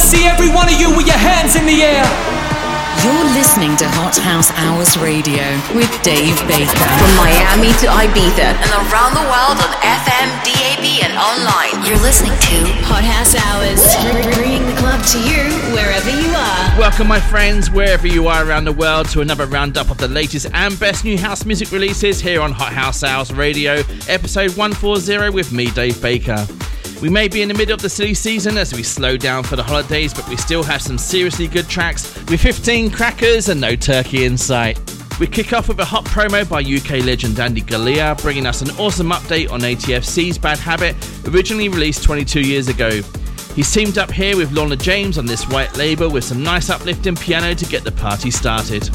see every one of you with your hands in the air. You're listening to Hot House Hours Radio with Dave Baker. From Miami to Ibiza and around the world on FM, DAB and online. You're listening to Hot House Hours, bringing the club to you wherever you are. Welcome my friends, wherever you are around the world, to another roundup of the latest and best new house music releases here on Hot House Hours Radio, episode 140 with me, Dave Baker. We may be in the middle of the silly season as we slow down for the holidays, but we still have some seriously good tracks with 15 crackers and no turkey in sight. We kick off with a hot promo by UK legend Andy Galea, bringing us an awesome update on ATFC's Bad Habit, originally released 22 years ago. He's teamed up here with Lorna James on this white label with some nice uplifting piano to get the party started.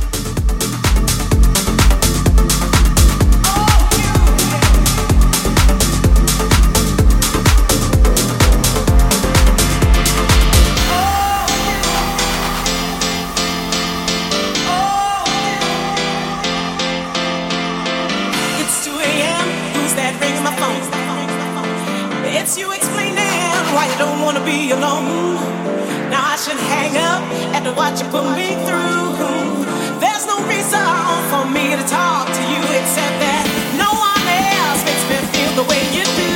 Be alone. Now I should hang up after what you put me through. There's no reason for me to talk to you except that no one else makes me feel the way you do.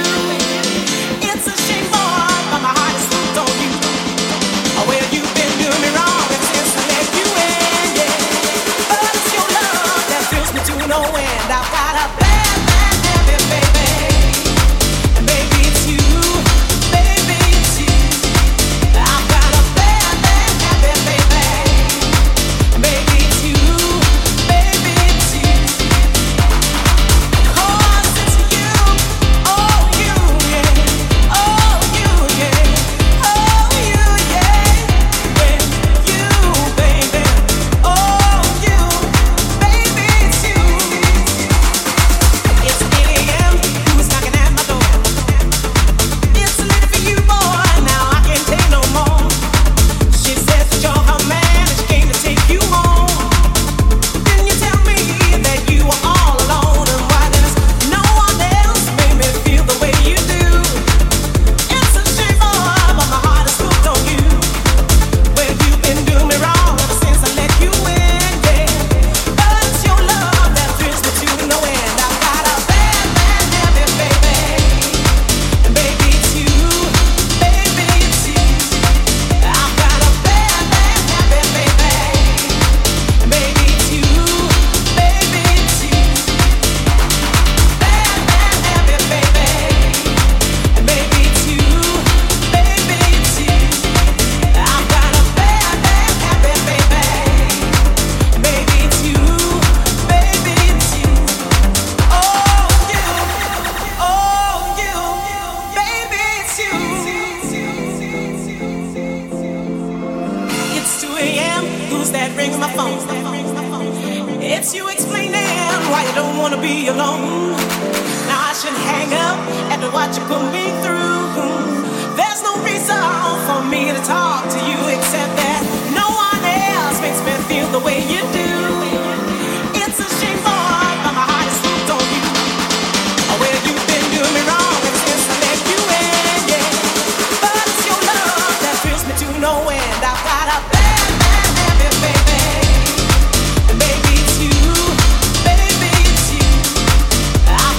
It's a shame, boy, but my heart is hooked on you. Well, you've been doing me wrong since I let you in, yeah. But it's your love that thrills me to no end. I've got a bad, bad habit, baby. And baby, it's you.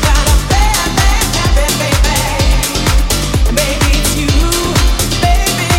Baby,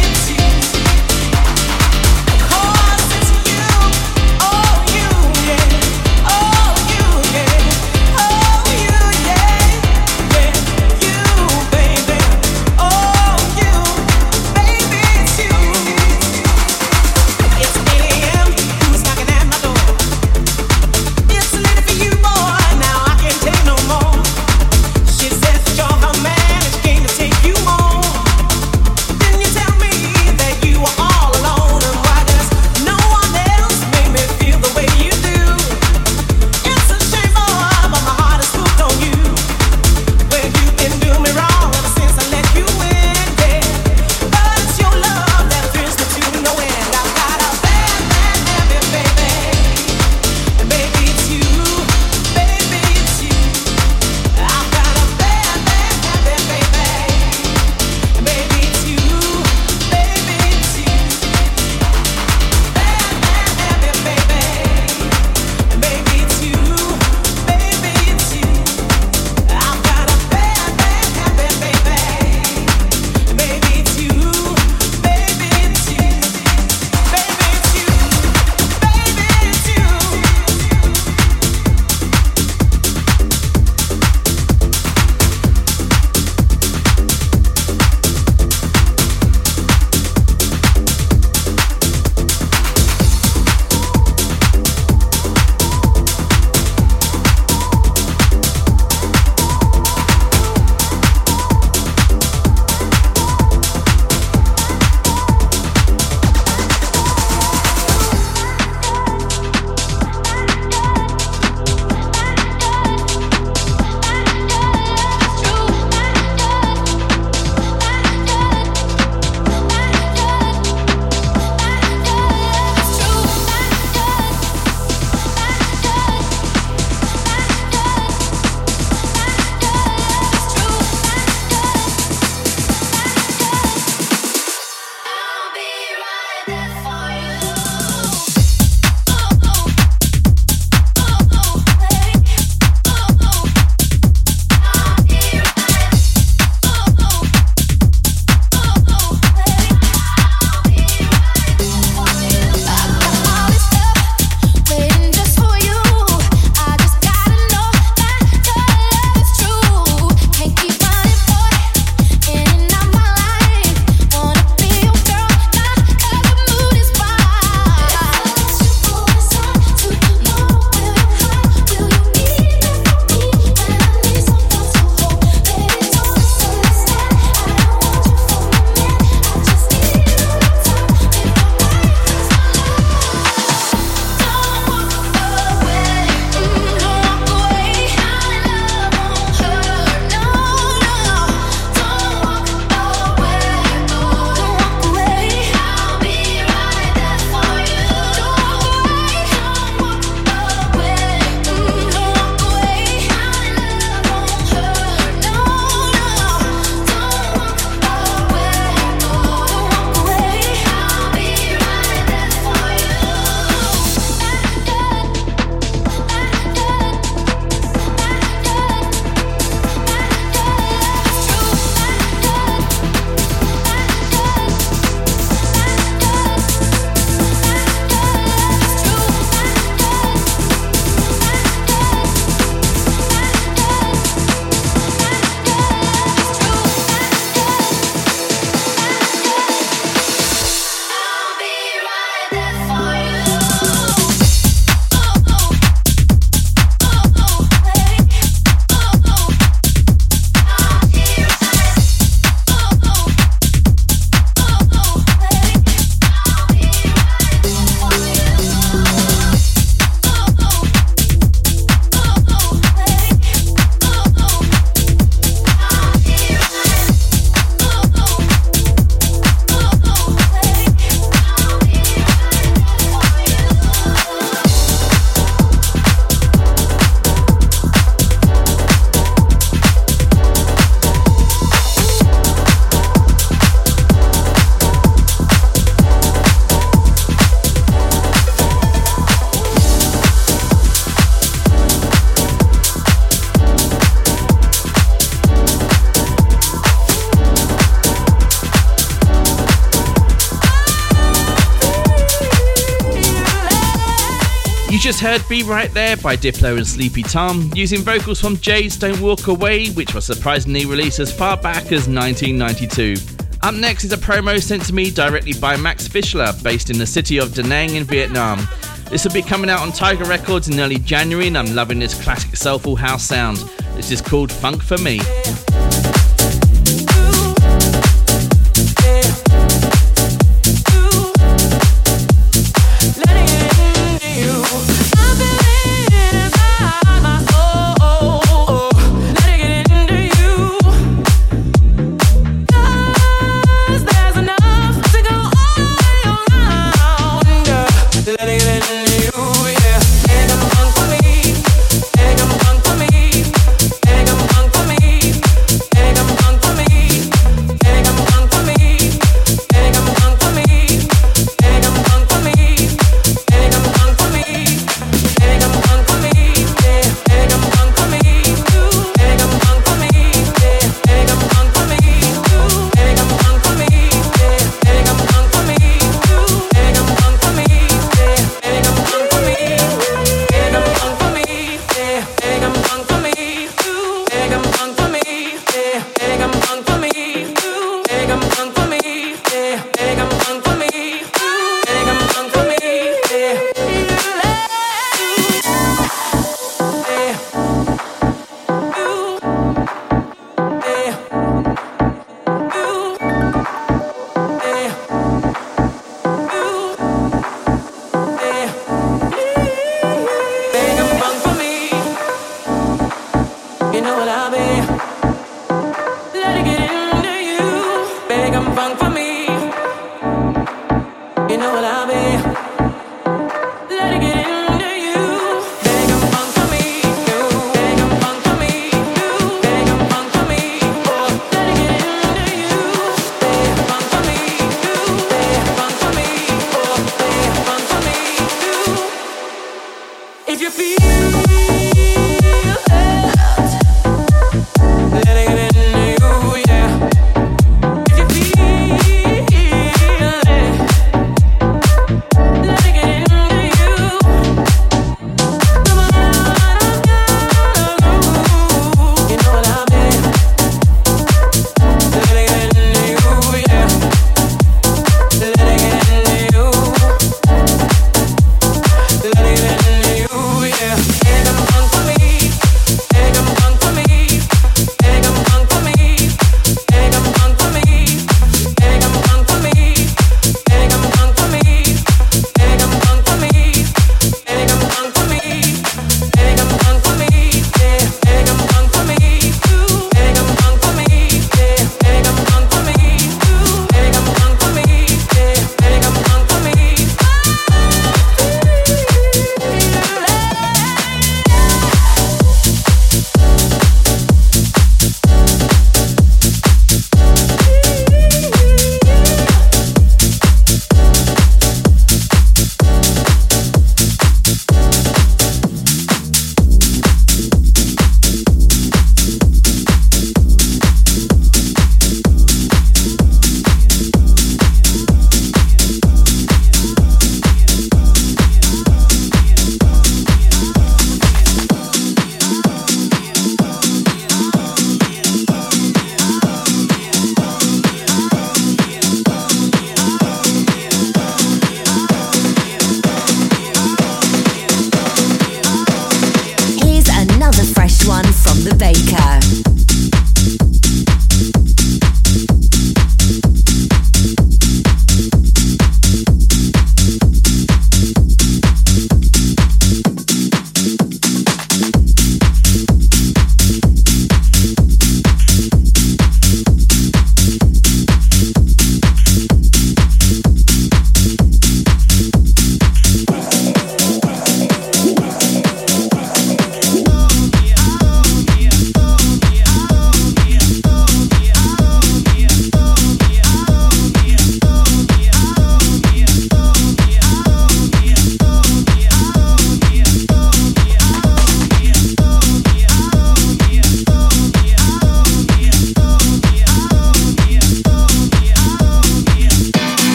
just heard Be Right There by Diplo and Sleepy Tom, using vocals from Jay's Don't Walk Away, which was surprisingly released as far back as 1992. Up next is a promo sent to me directly by Max Fischler, based in the city of Da Nang in Vietnam. This will be coming out on Tiger Records in early January, and I'm loving this classic soulful house sound. This is called Funk For Me.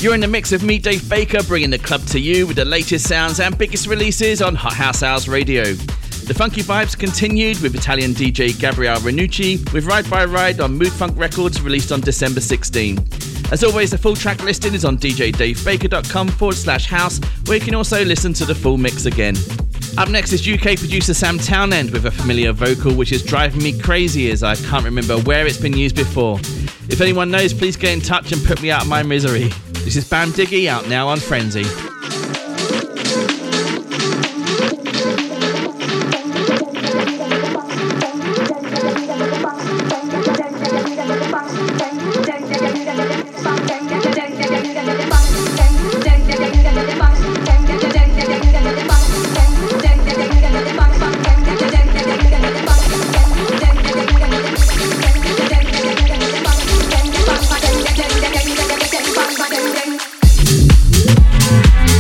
You're in the mix of me, Dave Baker, bringing the club to you with the latest sounds and biggest releases on Hot House Hours Radio. The funky vibes continued with Italian DJ Gabriele Ranucci with Ride by Ride on Mood Funk Records, released on December 16. As always, the full track listing is on djdavebaker.com/house, where you can also listen to the full mix again. Up next is UK producer Sam Townend with a familiar vocal which is driving me crazy as I can't remember where it's been used before. If anyone knows, please get in touch and put me out of my misery. This is Bam Diggy, out now on Frenzy. Bang, bang,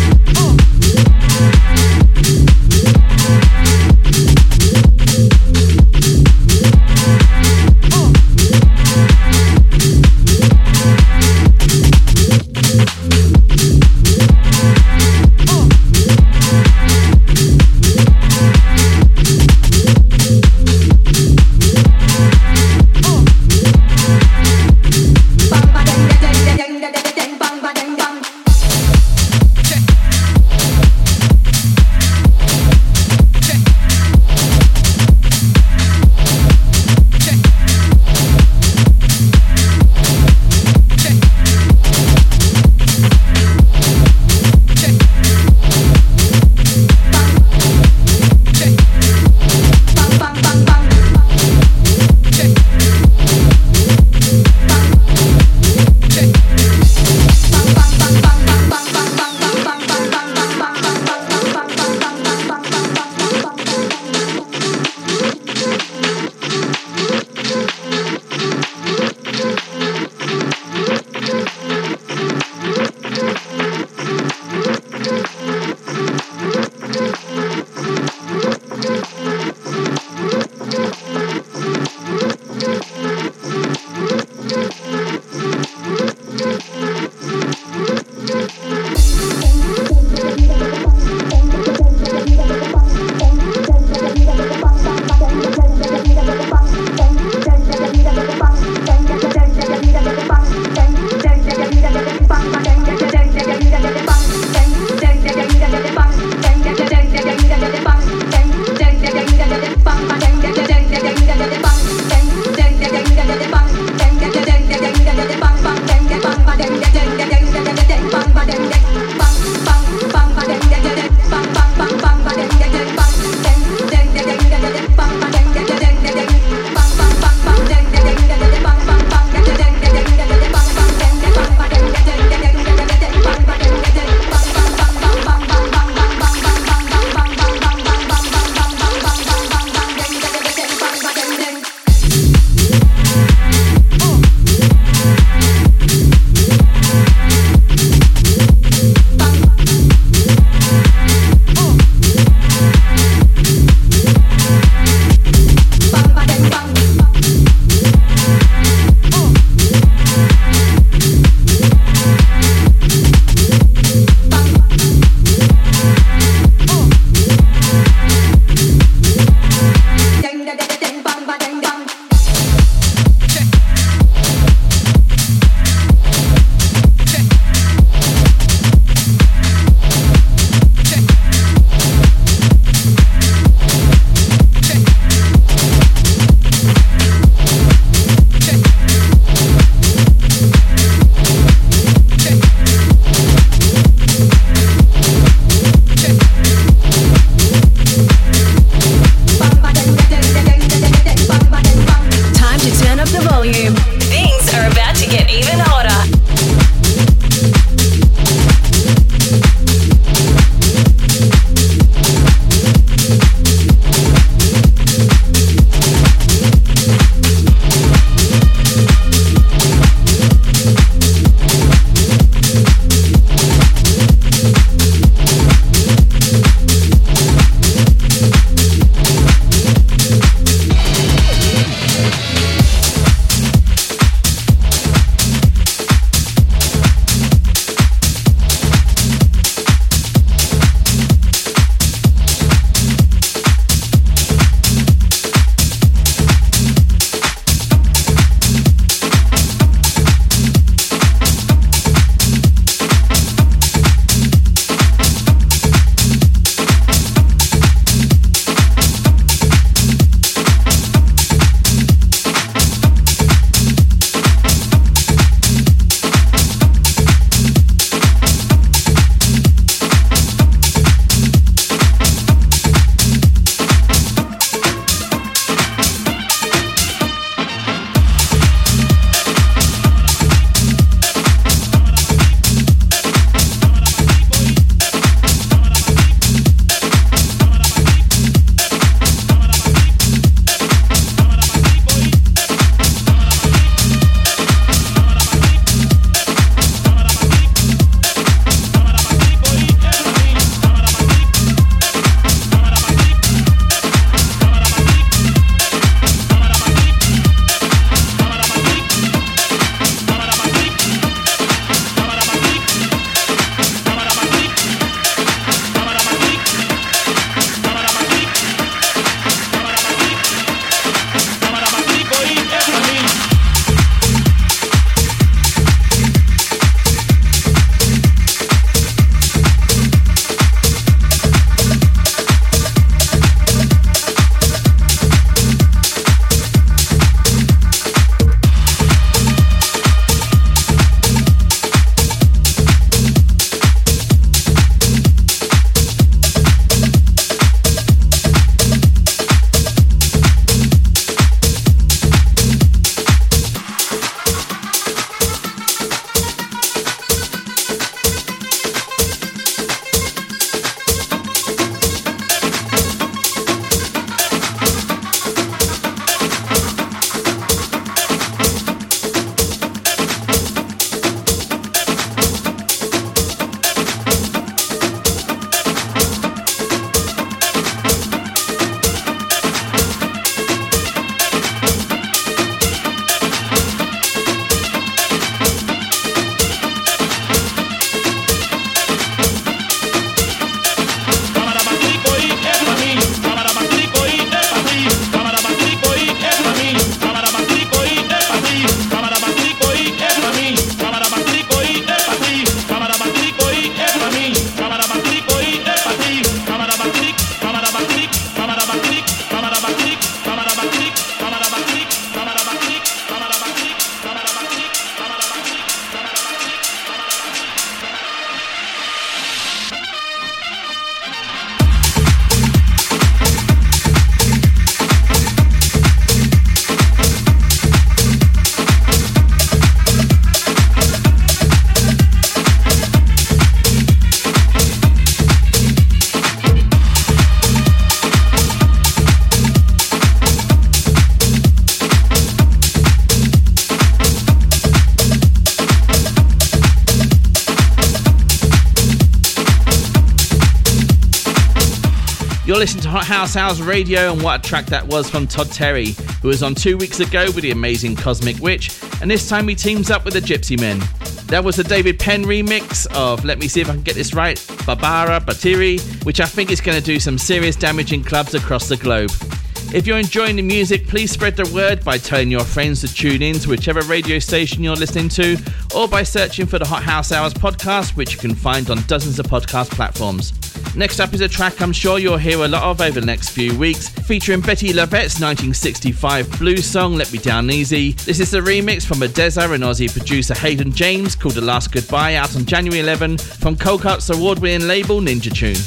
Hot House Hours Radio, and what a track that was from Todd Terry, who was on 2 weeks ago with the amazing Cosmic Witch, and this time he teams up with the Gypsy Men. That was the David Penn remix of, let me see if I can get this right, Barbara Batiri, which I think is going to do some serious damage in clubs across the globe. If you're enjoying the music, please spread the word by telling your friends to tune in to whichever radio station you're listening to, or by searching for the Hot House Hours podcast, which you can find on dozens of podcast platforms. Next up is a track I'm sure you'll hear a lot of over the next few weeks, featuring Betty Lovette's 1965 blues song, Let Me Down Easy. This is the remix from Odessa and Aussie producer Hayden James, called The Last Goodbye, out on January 11 from Colcutt's award-winning label Ninja Tune.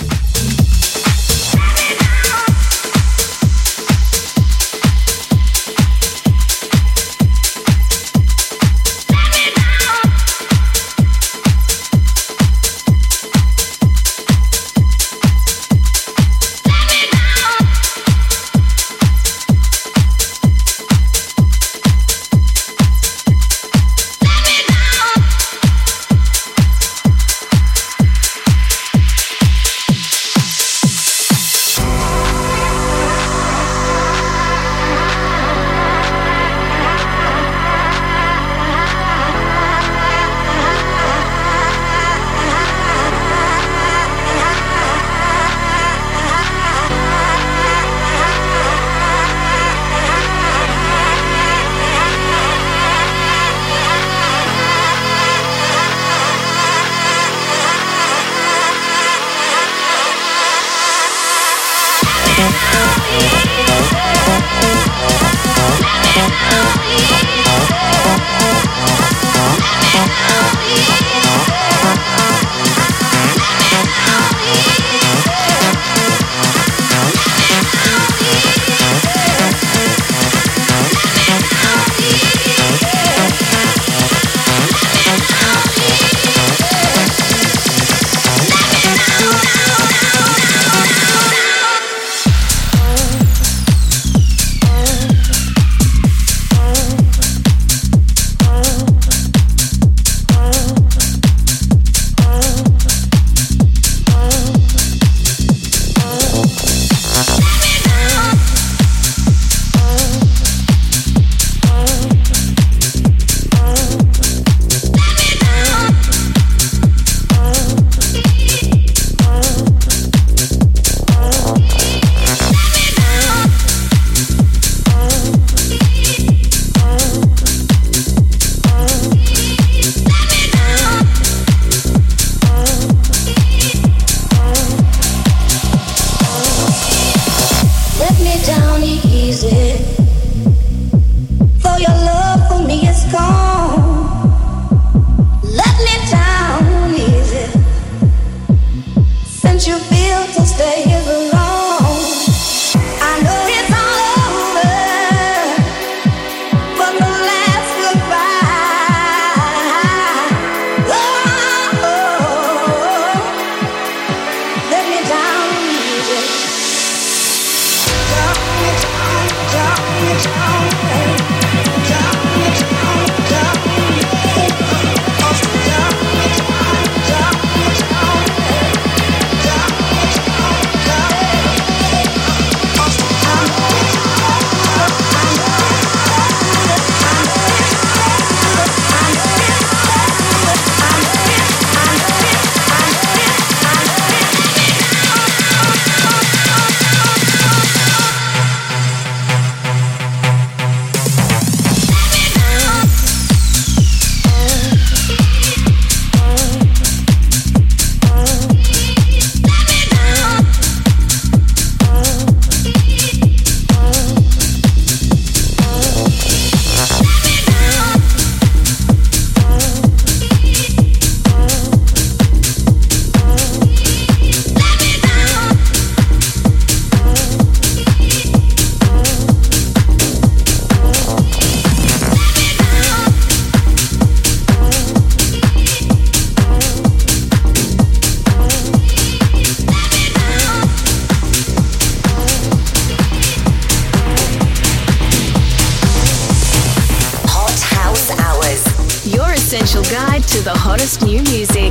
essential guide to the hottest new music.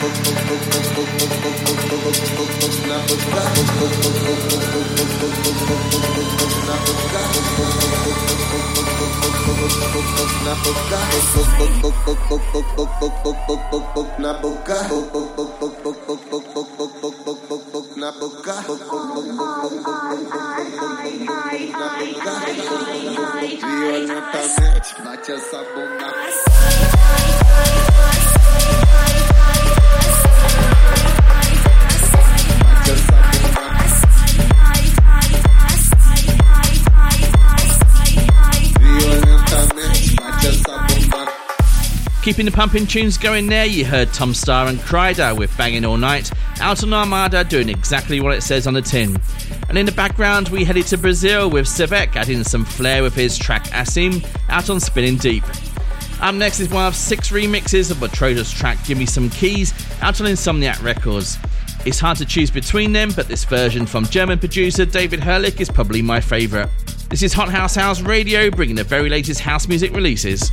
Keeping the pumping tunes going there, you heard Tom Starr and Kryder with Banging All Night, out on Armada doing exactly what it says on the tin. And in the background we headed to Brazil with Sevek adding some flair with his track Assim, out on Spinning Deep. Up next is one of 6 remixes of Matroda's track Give Me Some Keys, out on Insomniac Records. It's hard to choose between them, but this version from German producer David Herlich is probably my favourite. This is Hot House Radio, bringing the very latest house music releases.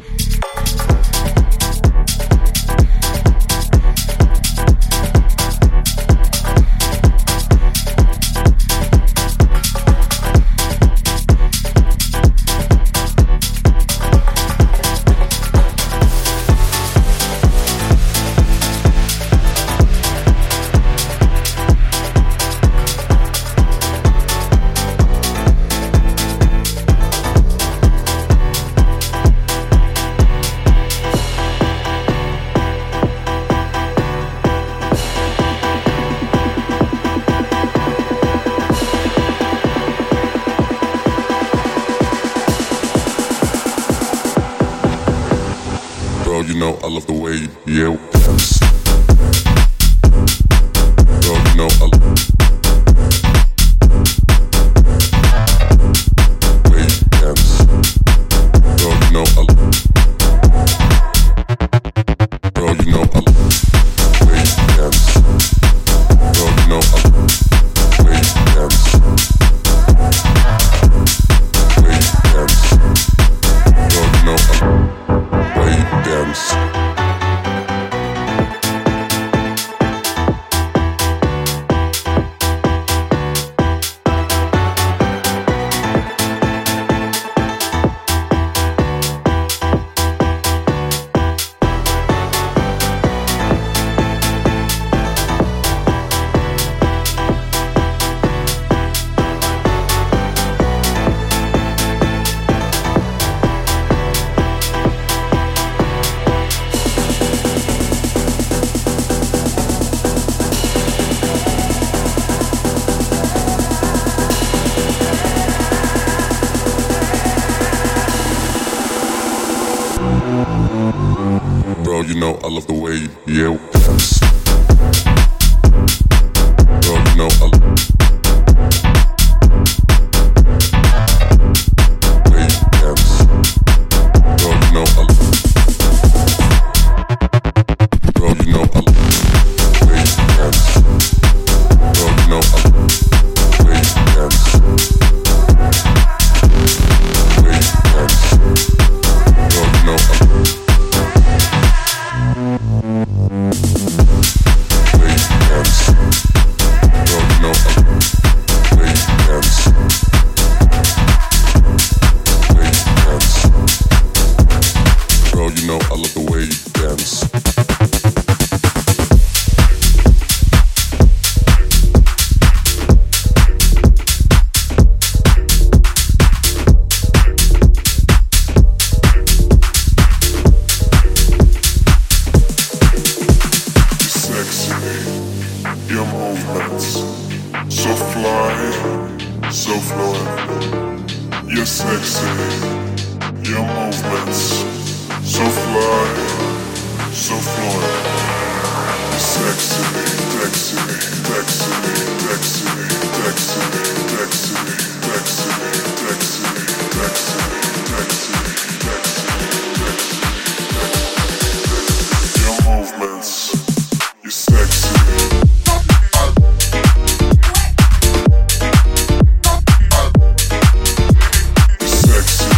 I love the way you dance. Girl, you know I love the way you dance. Girl, you know I love. Girl, you know I love the way you dance. Girl, you know I love the way you dance. The way you dance. Girl, you know I love the way you dance. Bro, you know I love the way you dance. Bro, you know I love the way you dance. Bro, you know I love. Bro, you know I love the way you dance. Bro, you know I love the way you dance. The way you dance. Bro, you know I love. Sexy.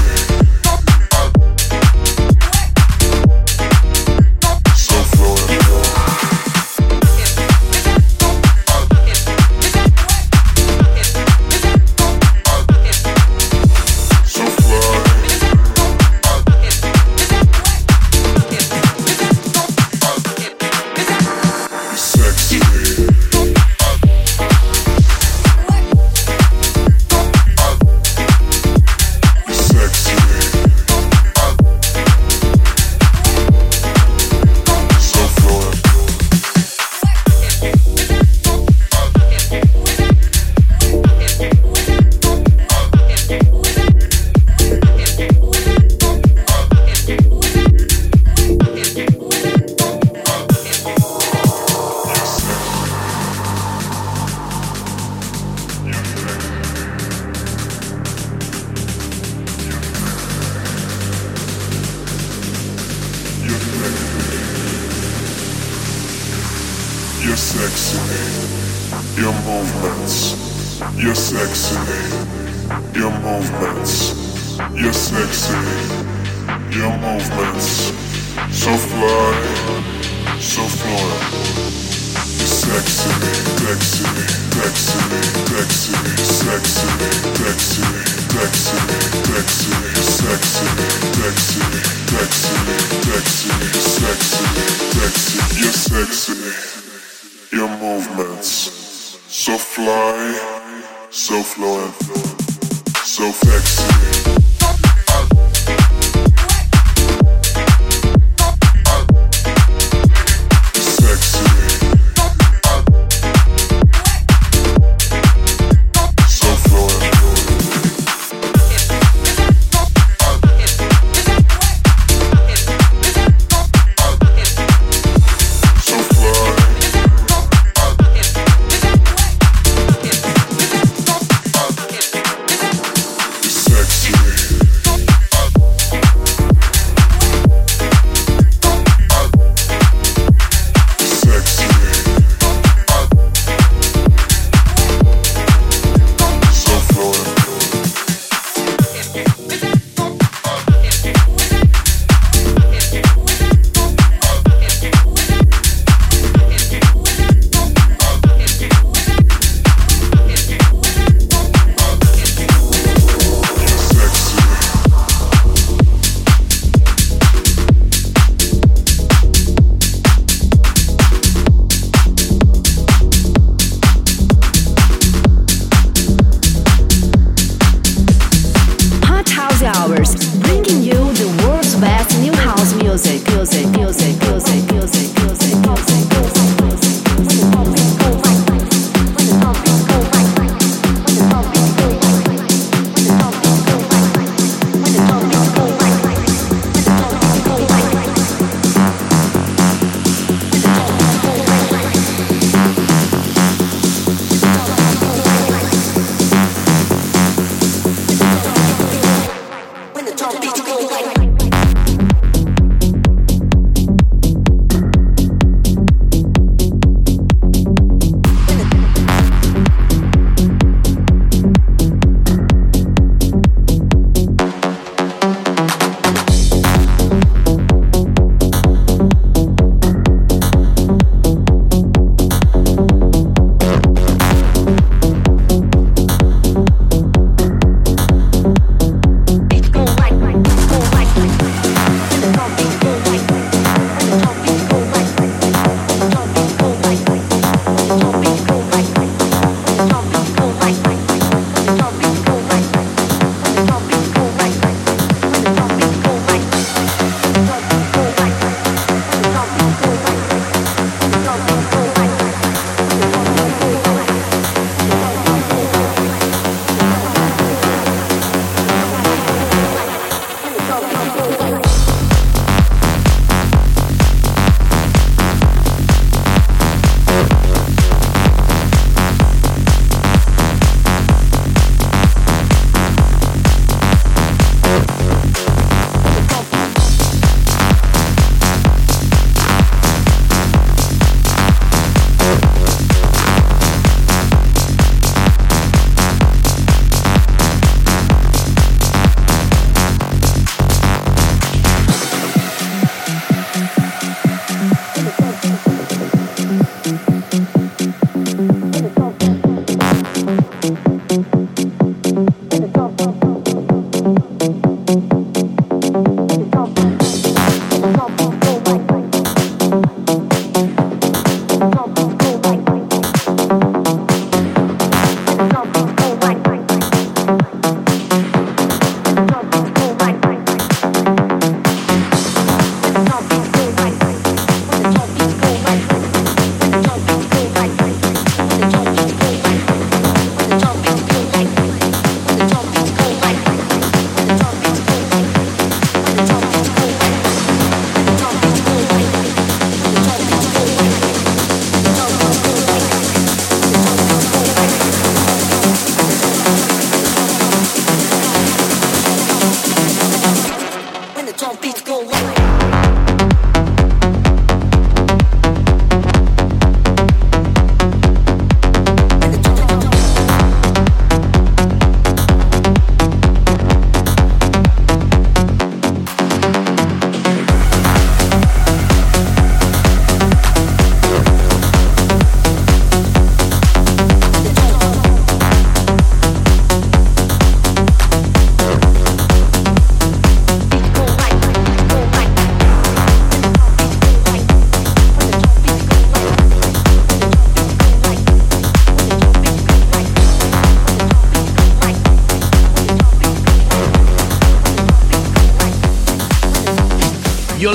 You're sexy, your movements. You're sexy, your movements. You're sexy, your movements. So fly, so fluent. You're sexy, sexy, sexy, sexy, sexy, sexy, sexy, sexy, sexy, sexy, sexy, sexy, sexy, sexy. You're sexy, your movements. So fly, so fluent, so sexy.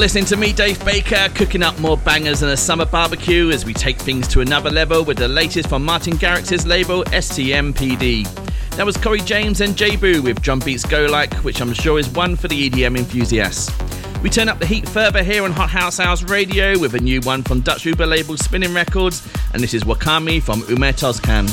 listening to me, Dave Baker, cooking up more bangers than a summer barbecue as we take things to another level with the latest from Martin Garrix's label STMPD. That was Corey James and J-Boo with Drum Beats Go Like, which I'm sure is one for the EDM enthusiasts. We turn up the heat further here on Hot House Hours Radio with a new one from Dutch Uber label Spinning Records, and this is Wakami from Umer Tozcan.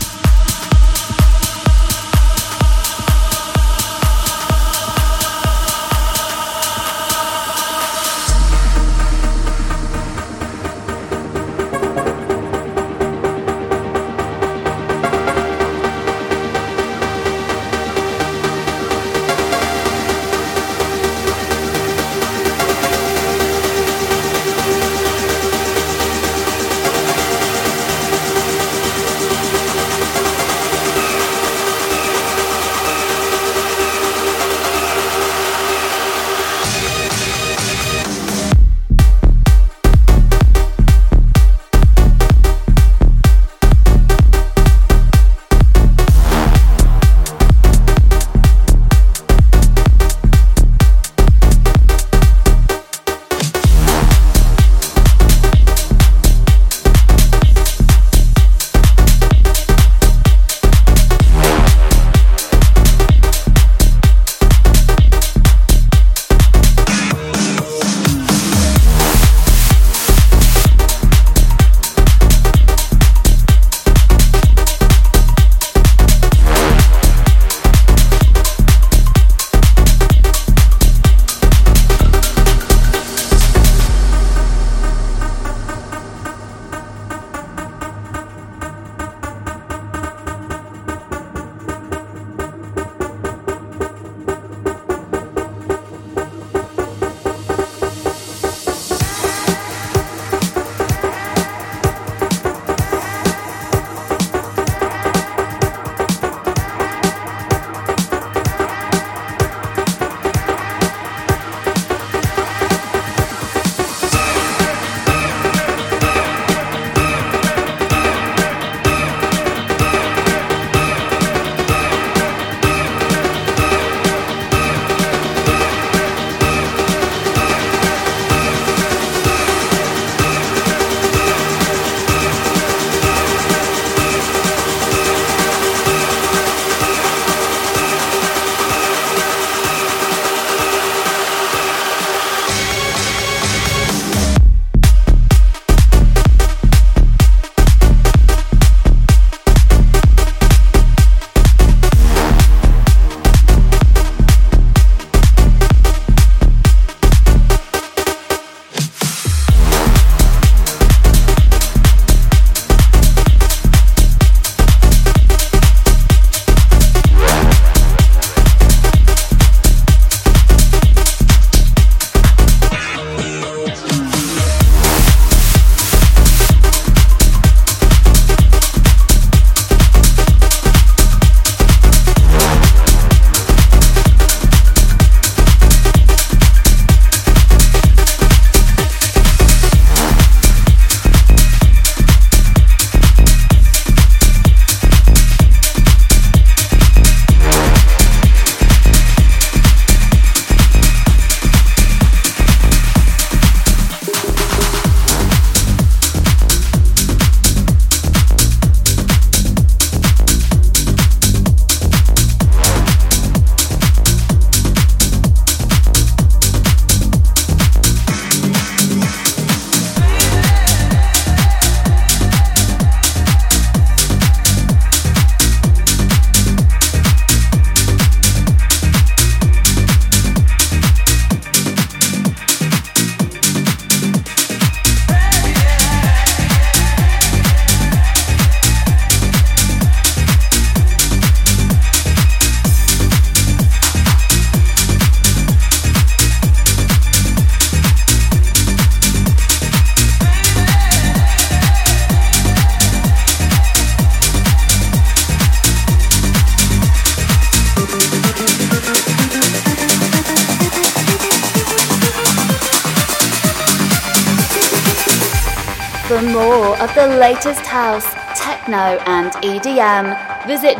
For more of the latest house, techno and EDM, visit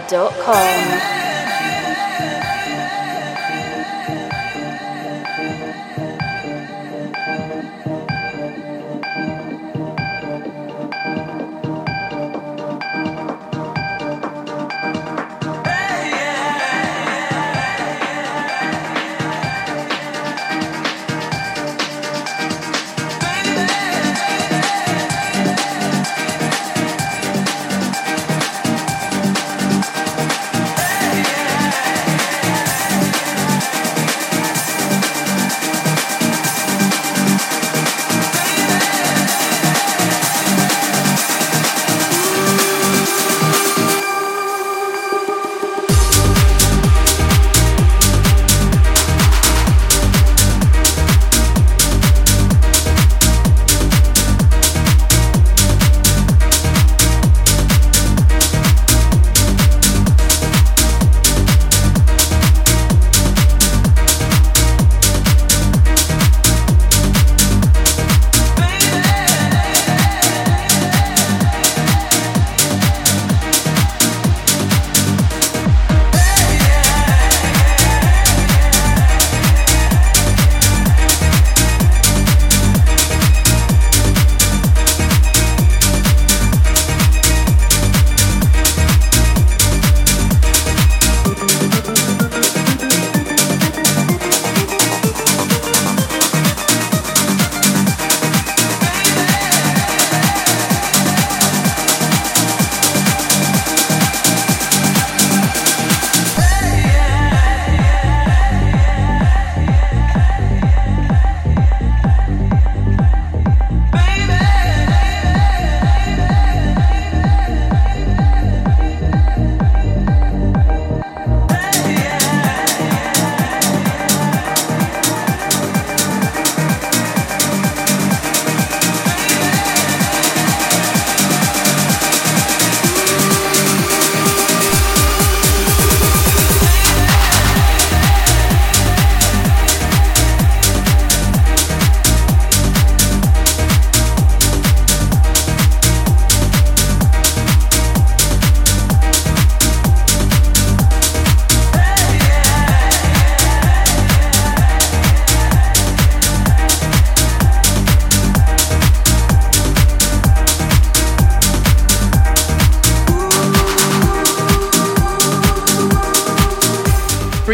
djdavebaker.com.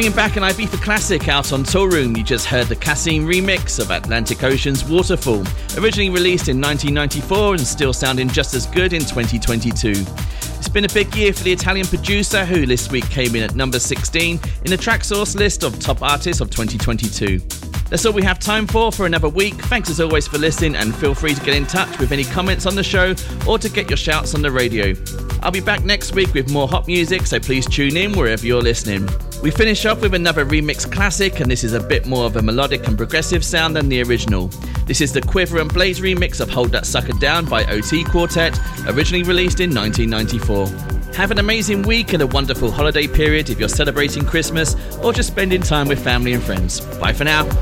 Bringing back an Ibiza classic out on Toolroom, you just heard the Cassim remix of Atlantic Ocean's Waterfall, originally released in 1994 and still sounding just as good in 2022. It's been a big year for the Italian producer, who this week came in at number 16 in the Traxsource list of top artists of 2022. That's all we have time for another week. Thanks as always for listening, and feel free to get in touch with any comments on the show or to get your shouts on the radio. I'll be back next week with more hot music, so please tune in wherever you're listening. We finish off with another remix classic, and this is a bit more of a melodic and progressive sound than the original. This is the Quiver and Blaze remix of Hold That Sucker Down by OT Quartet, originally released in 1994. Have an amazing week and a wonderful holiday period if you're celebrating Christmas or just spending time with family and friends. Bye for now.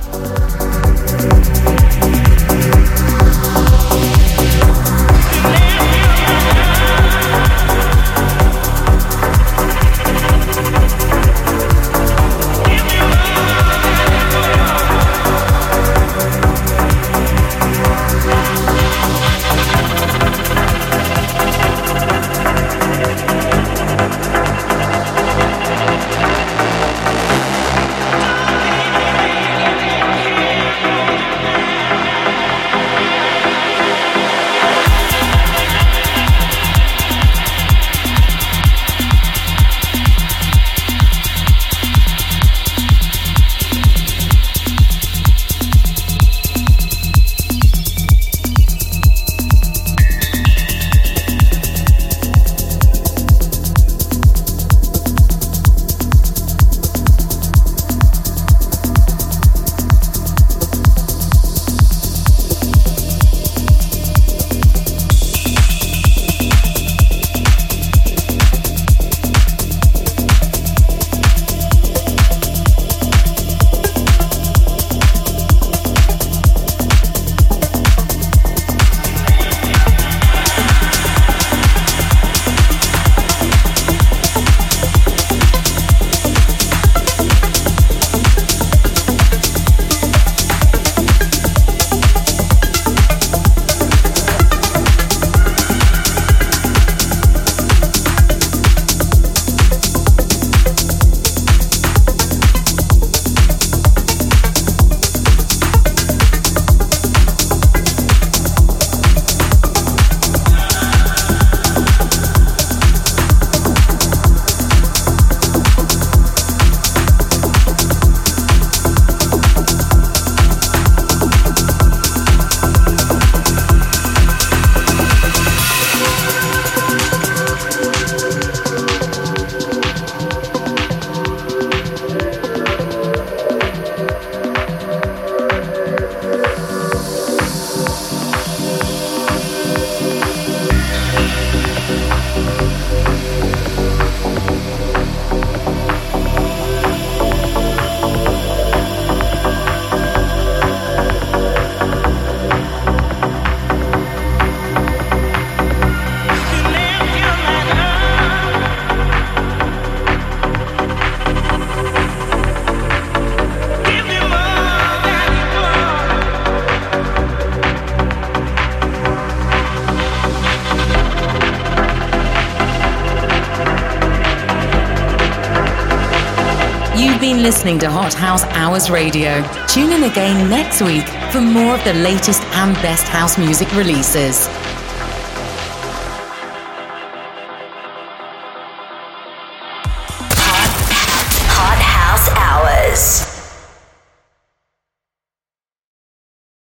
Listening to Hot House Hours Radio. Tune in again next week for more of the latest and best house music releases.